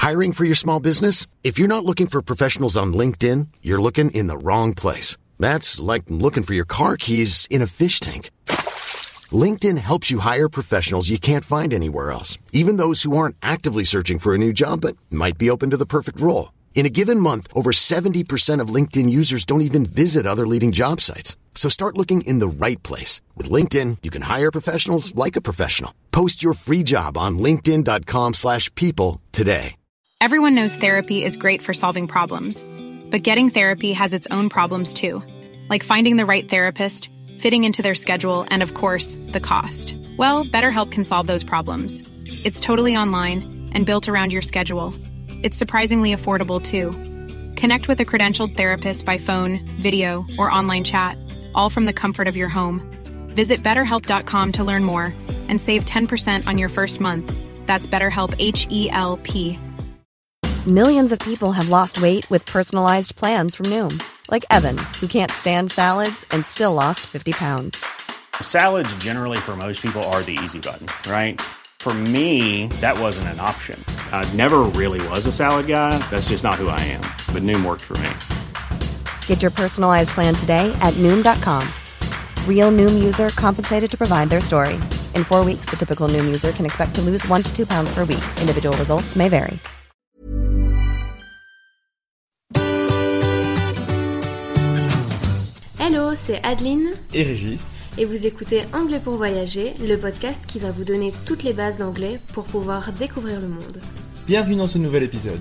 Hiring for your small business? If you're not looking for professionals on LinkedIn, you're looking in the wrong place. That's like looking for your car keys in a fish tank. LinkedIn helps you hire professionals you can't find anywhere else, even those who aren't actively searching for a new job but might be open to the perfect role. In a given month, over 70% of LinkedIn users don't even visit other leading job sites. So start looking in the right place. With LinkedIn, you can hire professionals like a professional. Post your free job on linkedin.com/people today. Everyone knows therapy is great for solving problems. But getting therapy has its own problems too. Like finding the right therapist, fitting into their schedule, and of course, the cost. Well, BetterHelp can solve those problems. It's totally online and built around your schedule. It's surprisingly affordable too. Connect with a credentialed therapist by phone, video, or online chat, all from the comfort of your home. Visit BetterHelp.com to learn more and save 10% on your first month. That's BetterHelp, H-E-L-P. Millions of people have lost weight with personalized plans from Noom. Like Evan, who can't stand salads and still lost 50 pounds. Salads generally for most people are the easy button, right? For me, that wasn't an option. I never really was a salad guy. That's just not who I am. But Noom worked for me. Get your personalized plan today at Noom.com. Real Noom user compensated to provide their story. In 4 weeks, the typical Noom user can expect to lose 1 to 2 pounds per week. Individual results may vary. Hello, c'est Adeline et Régis. Et vous écoutez Anglais pour voyager, le podcast qui va vous donner toutes les bases d'anglais pour pouvoir découvrir le monde. Bienvenue dans ce nouvel épisode.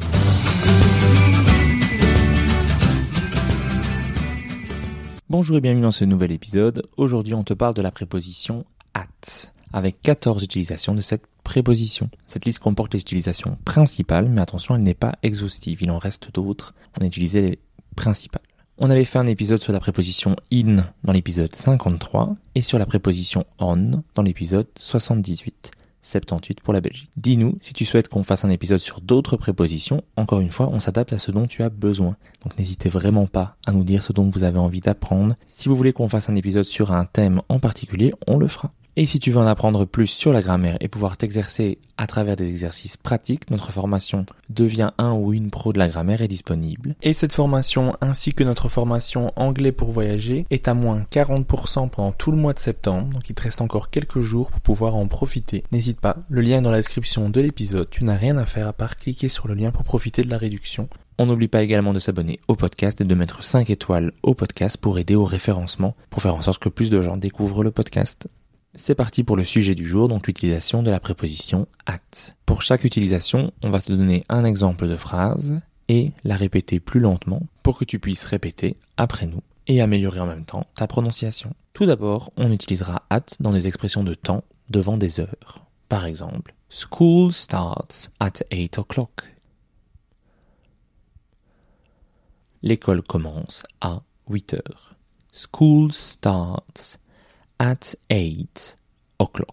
Bonjour et bienvenue dans ce nouvel épisode. Aujourd'hui, on te parle de la préposition at, avec 14 utilisations de cette préposition. Cette liste comporte les utilisations principales, mais attention, elle n'est pas exhaustive. Il en reste d'autres. On a utilisé les principales. On avait fait un épisode sur la préposition in dans l'épisode 53 et sur la préposition on dans l'épisode 78. 78 pour la Belgique. Dis-nous si tu souhaites qu'on fasse un épisode sur d'autres prépositions. Encore une fois, on s'adapte à ce dont tu as besoin. Donc n'hésitez vraiment pas à nous dire ce dont vous avez envie d'apprendre. Si vous voulez qu'on fasse un épisode sur un thème en particulier, on le fera. Et si tu veux en apprendre plus sur la grammaire et pouvoir t'exercer à travers des exercices pratiques, notre formation Deviens un ou une pro de la grammaire est disponible. Et cette formation, ainsi que notre formation Anglais pour voyager, est à moins 40% pendant tout le mois de septembre, donc il te reste encore quelques jours pour pouvoir en profiter. N'hésite pas, le lien est dans la description de l'épisode, tu n'as rien à faire à part cliquer sur le lien pour profiter de la réduction. On n'oublie pas également de s'abonner au podcast et de mettre 5 étoiles au podcast pour aider au référencement, pour faire en sorte que plus de gens découvrent le podcast. C'est parti pour le sujet du jour, donc l'utilisation de la préposition at. Pour chaque utilisation, on va te donner un exemple de phrase et la répéter plus lentement pour que tu puisses répéter après nous et améliorer en même temps ta prononciation. Tout d'abord, on utilisera at dans des expressions de temps devant des heures. Par exemple, school starts at 8 o'clock. L'école commence à 8 heures. School starts at 8 o'clock.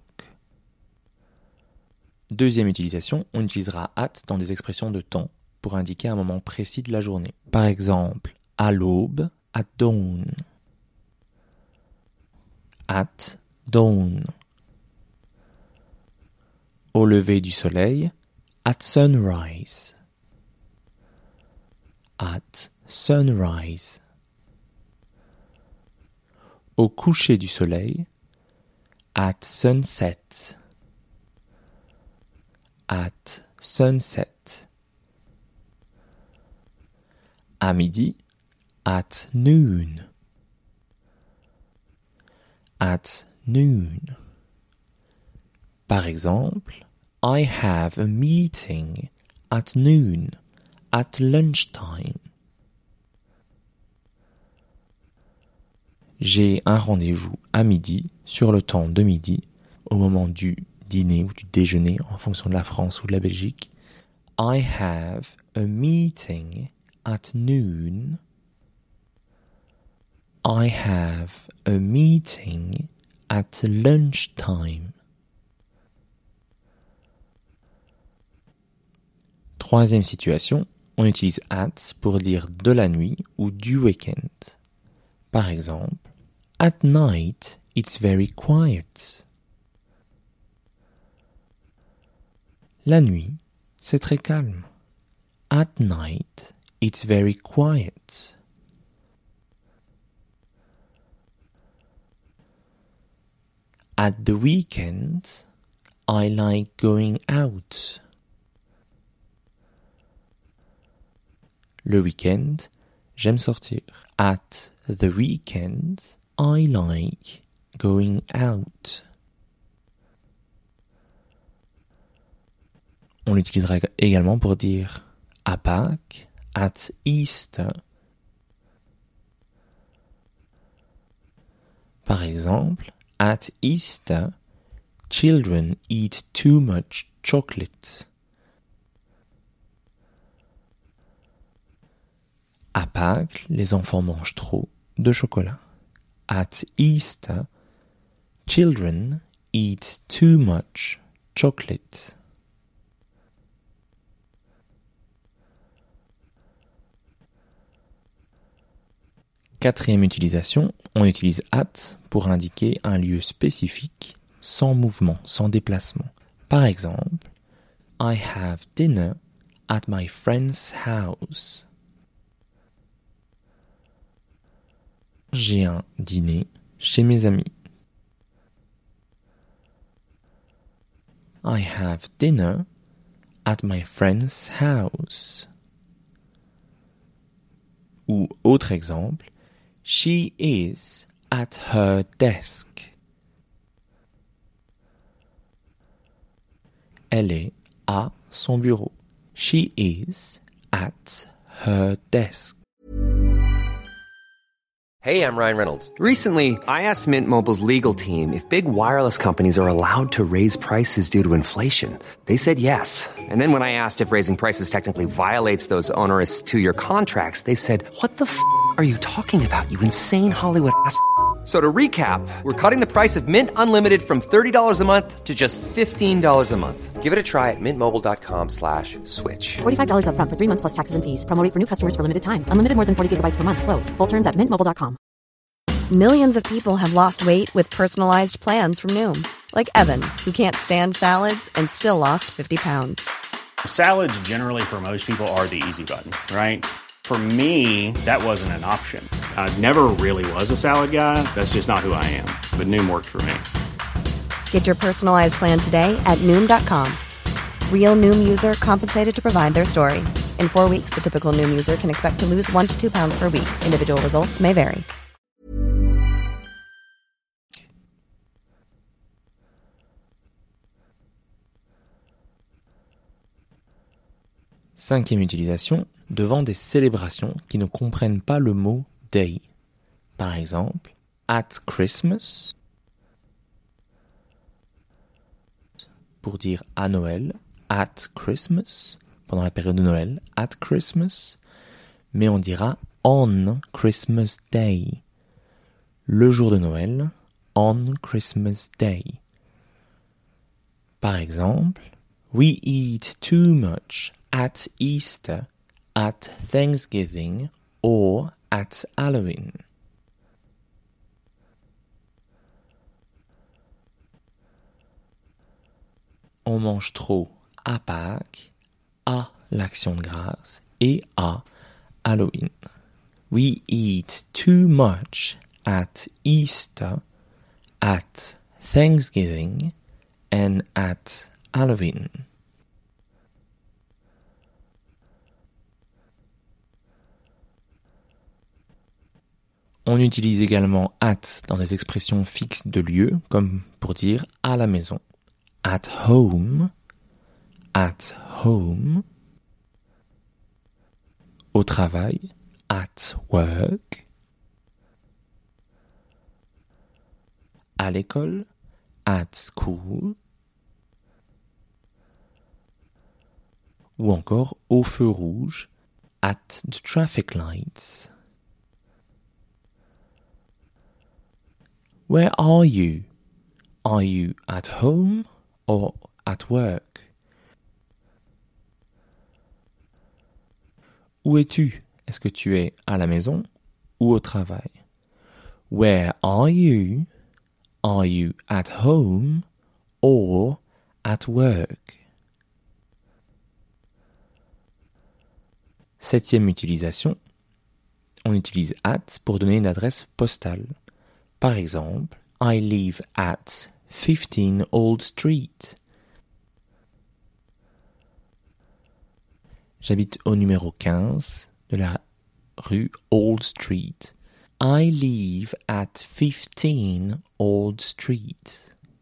Deuxième utilisation, on utilisera at dans des expressions de temps pour indiquer un moment précis de la journée. Par exemple, à l'aube, at dawn. At dawn. Au lever du soleil, at sunrise. At sunrise. Au coucher du soleil, at sunset. At sunset. À midi, at noon. At noon. Par exemple, I have a meeting at noon, at lunchtime. J'ai un rendez-vous à midi, sur le temps de midi, au moment du dîner ou du déjeuner, en fonction de la France ou de la Belgique. I have a meeting at noon. I have a meeting at lunchtime. Troisième situation, on utilise at pour dire de la nuit ou du week-end. Par exemple, at night, it's very quiet. La nuit, c'est très calme. At night, it's very quiet. At the weekend, I like going out. Le week-end, j'aime sortir. At the weekend, I like going out. On l'utilisera également pour dire à Pâques, at Easter. Par exemple, at Easter, children eat too much chocolate. À Pâques, les enfants mangent trop de chocolat. At Easter, children eat too much chocolate. Quatrième utilisation, on utilise at pour indiquer un lieu spécifique, sans mouvement, sans déplacement. Par exemple, I have dinner at my friend's house. J'ai un dîner chez mes amis. I have dinner at my friend's house. Ou autre exemple, she is at her desk. Elle est à son bureau. She is at her desk. Hey, I'm Ryan Reynolds. Recently, I asked Mint Mobile's legal team if big wireless companies are allowed to raise prices due to inflation. They said yes. And then when I asked if raising prices technically violates those onerous 2-year contracts, they said, "What the f*** are you talking about, you insane Hollywood ass?" So to recap, we're cutting the price of Mint Unlimited from $30 a month to just $15 a month. Give it a try at mintmobile.com/switch. $45 up front for 3 months plus taxes and fees. Promo rate for new customers for limited time. Unlimited more than 40 gigabytes per month. Slows full terms at mintmobile.com. Millions of people have lost weight with personalized plans from Noom. Like Evan, who can't stand salads and still lost 50 pounds. Salads generally for most people are the easy button, right? For me, that wasn't an option. I never really was a salad guy. That's just not who I am. But Noom worked for me. Get your personalized plan today at Noom.com. Real Noom user compensated to provide their story. In 4 weeks, the typical Noom user can expect to lose 1 to 2 pounds per week. Individual results may vary. Cinquième utilisation, devant des célébrations qui ne comprennent pas le mot day. Par exemple, at Christmas, pour dire à Noël, at Christmas, pendant la période de Noël, at Christmas, mais on dira on Christmas Day. Le jour de Noël, on Christmas Day. Par exemple, we eat too much at Easter, at Thanksgiving or at Halloween. On mange trop à Pâques, à l'Action de grâce et à Halloween. We eat too much at Easter, at Thanksgiving and at Halloween. On utilise également at dans des expressions fixes de lieu, comme pour dire à la maison. At home, au travail, at work, à l'école, at school, ou encore au feu rouge, at the traffic lights. Where are you? Are you at home or at work? Où es-tu? Est-ce que tu es à la maison ou au travail? Where are you? Are you at home or at work? 7e utilisation, on utilise at pour donner une adresse postale. Par exemple, I live at 15 Old Street. J'habite au numéro 15 de la rue Old Street. I live at 15 Old Street.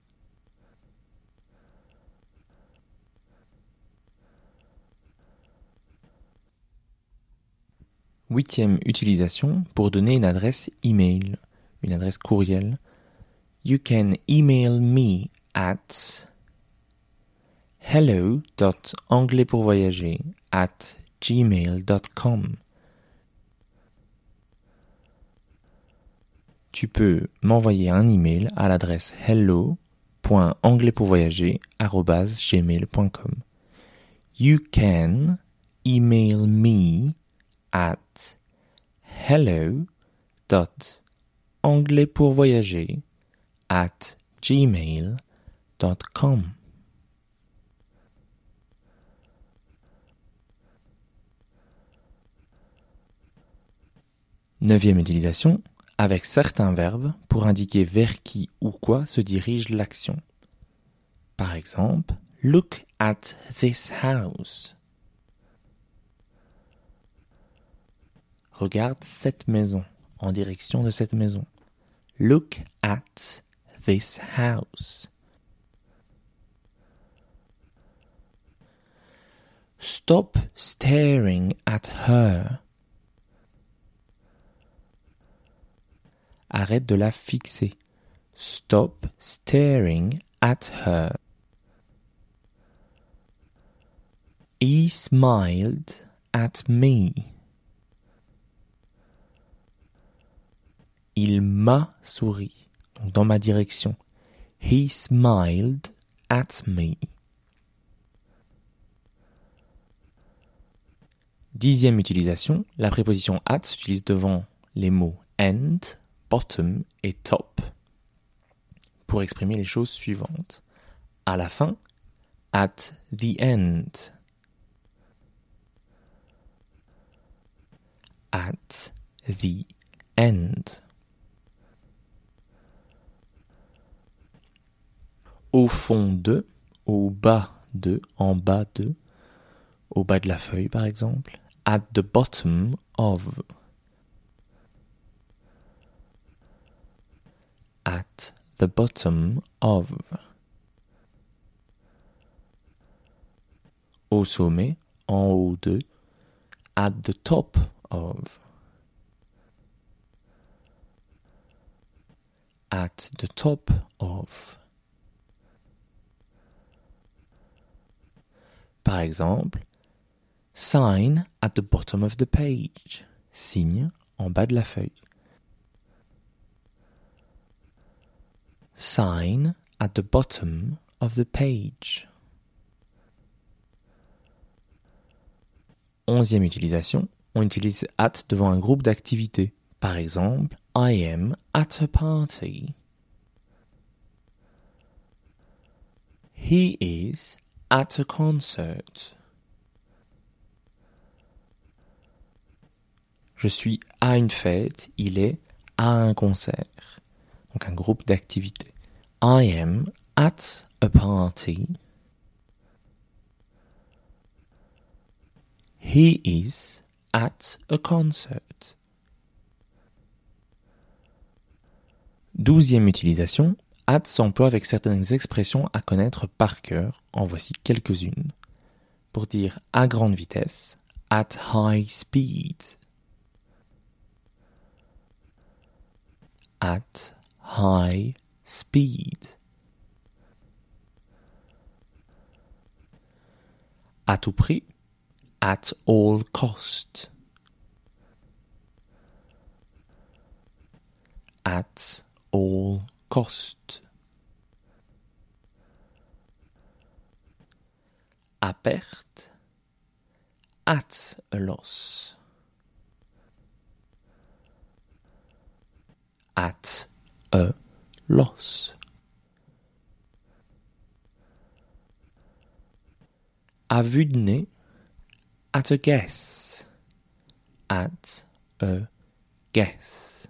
Huitième utilisation pour donner une adresse email, une adresse courriel. You can email me at hello.anglaispoursvoyager@gmail.com. Tu peux m'envoyer un email à l'adresse hello.anglaispoursvoyager@gmail.com. You can email me at hello.anglaispoursvoyager@gmail.com. Neuvième utilisation, avec certains verbes pour indiquer vers qui ou quoi se dirige l'action. Par exemple, look at this house. Regarde cette maison, en direction de cette maison. Look at this house. Stop staring at her. Arrête de la fixer. Stop staring at her. He smiled at me. Il m'a souri, donc dans ma direction. He smiled at me. 10e utilisation, la préposition at s'utilise devant les mots and, bottom et top pour exprimer les choses suivantes. À la fin, at the end. At the end. Au fond de, au bas de, en bas de, au bas de la feuille par exemple. At the bottom of. At the bottom of. Au sommet, en haut de. At the top of. At the top of. Par exemple, sign at the bottom of the page. Signe en bas de la feuille. Sign at the bottom of the page. 11e utilisation, on utilise at devant un groupe d'activités. Par exemple, I am at a party. He is at a concert. Je suis à une fête, il est à un concert. Donc un groupe d'activités. I am at a party. He is at a concert. 12e utilisation, at s'emploie avec certaines expressions à connaître par cœur. En voici quelques-unes. Pour dire à grande vitesse, at high speed. At high speed. À tout prix, at all cost. At all cost. À perte, at a loss. At a loss. À vue de nez, at a guess. at a guess.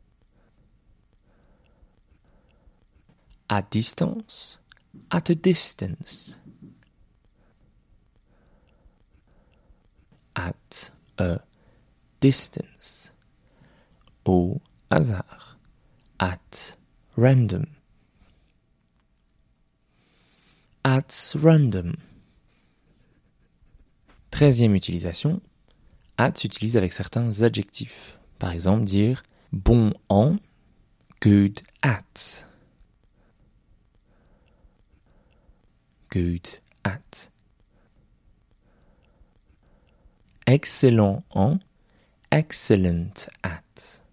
At distance, at a distance. At a distance. Au hasard. At random. At random. 13e utilisation. At s'utilise avec certains adjectifs. Par exemple, dire bon en, good at. Good at. Excellent en, excellent at.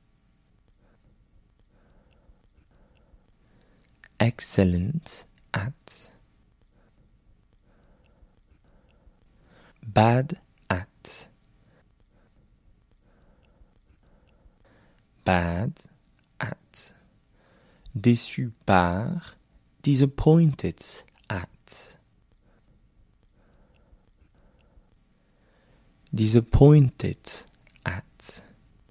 Excellent at. Bad at. Bad at. Déçu par, disappointed at. Disappointed at.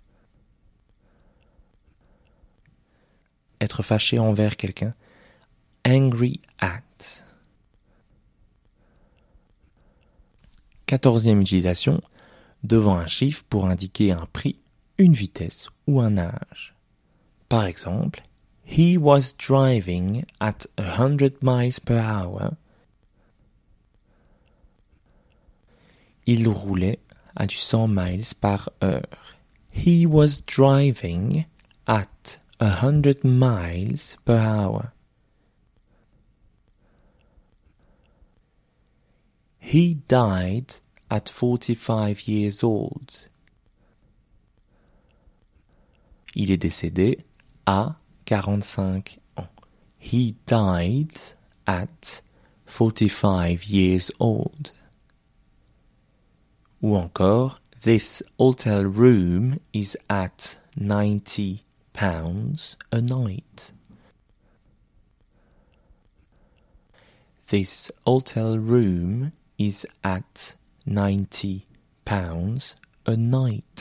Être fâché envers quelqu'un. Angry at. 14e utilisation, devant un chiffre pour indiquer un prix, une vitesse ou un âge. Par exemple, he was driving at 100 miles per hour. Il roulait à du 100 miles par heure. He was driving at 100 miles per hour. He died at 45 years old. Il est décédé à 45 ans. He died at 45 years old. Ou encore, this hotel room is at £90 a night. This hotel room is at £90 a night.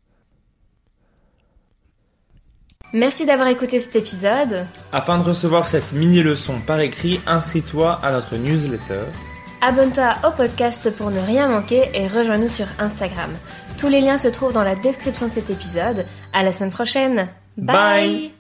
Merci d'avoir écouté cet épisode. Afin de recevoir cette mini-leçon par écrit, inscris-toi à notre newsletter. Abonne-toi au podcast pour ne rien manquer et rejoins-nous sur Instagram. Tous les liens se trouvent dans la description de cet épisode. À la semaine prochaine. Bye.